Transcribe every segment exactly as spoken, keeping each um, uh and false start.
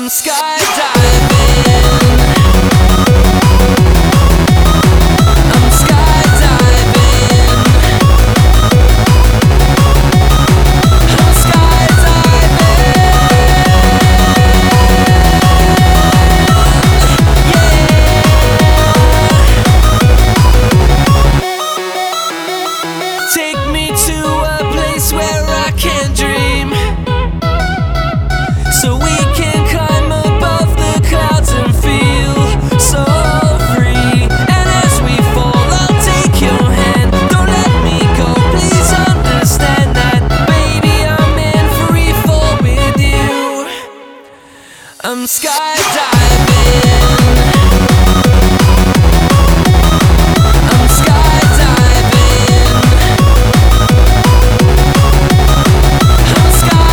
I'm skydiving. I'm skydiving. I'm skydiving. Yeah. Take me to a place where I can dream, so we can climb above the clouds and feel so free. And as we fall, I'll take your hand. Don't let me go, please understand that, baby, I'm in free fall with you. I'm skydiving. I'm skydiving. I'm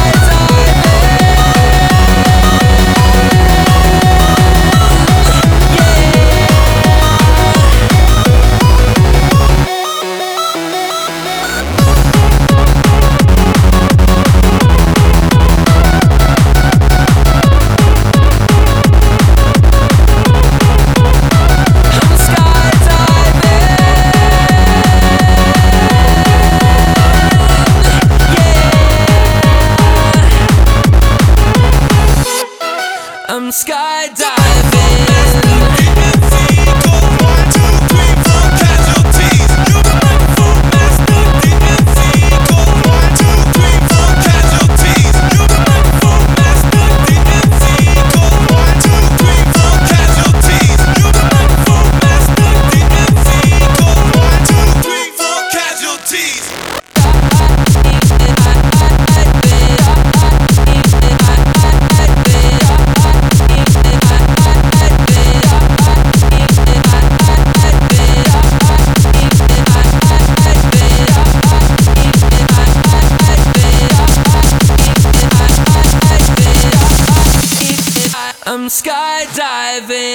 I'm skydiving. I'm skydiving.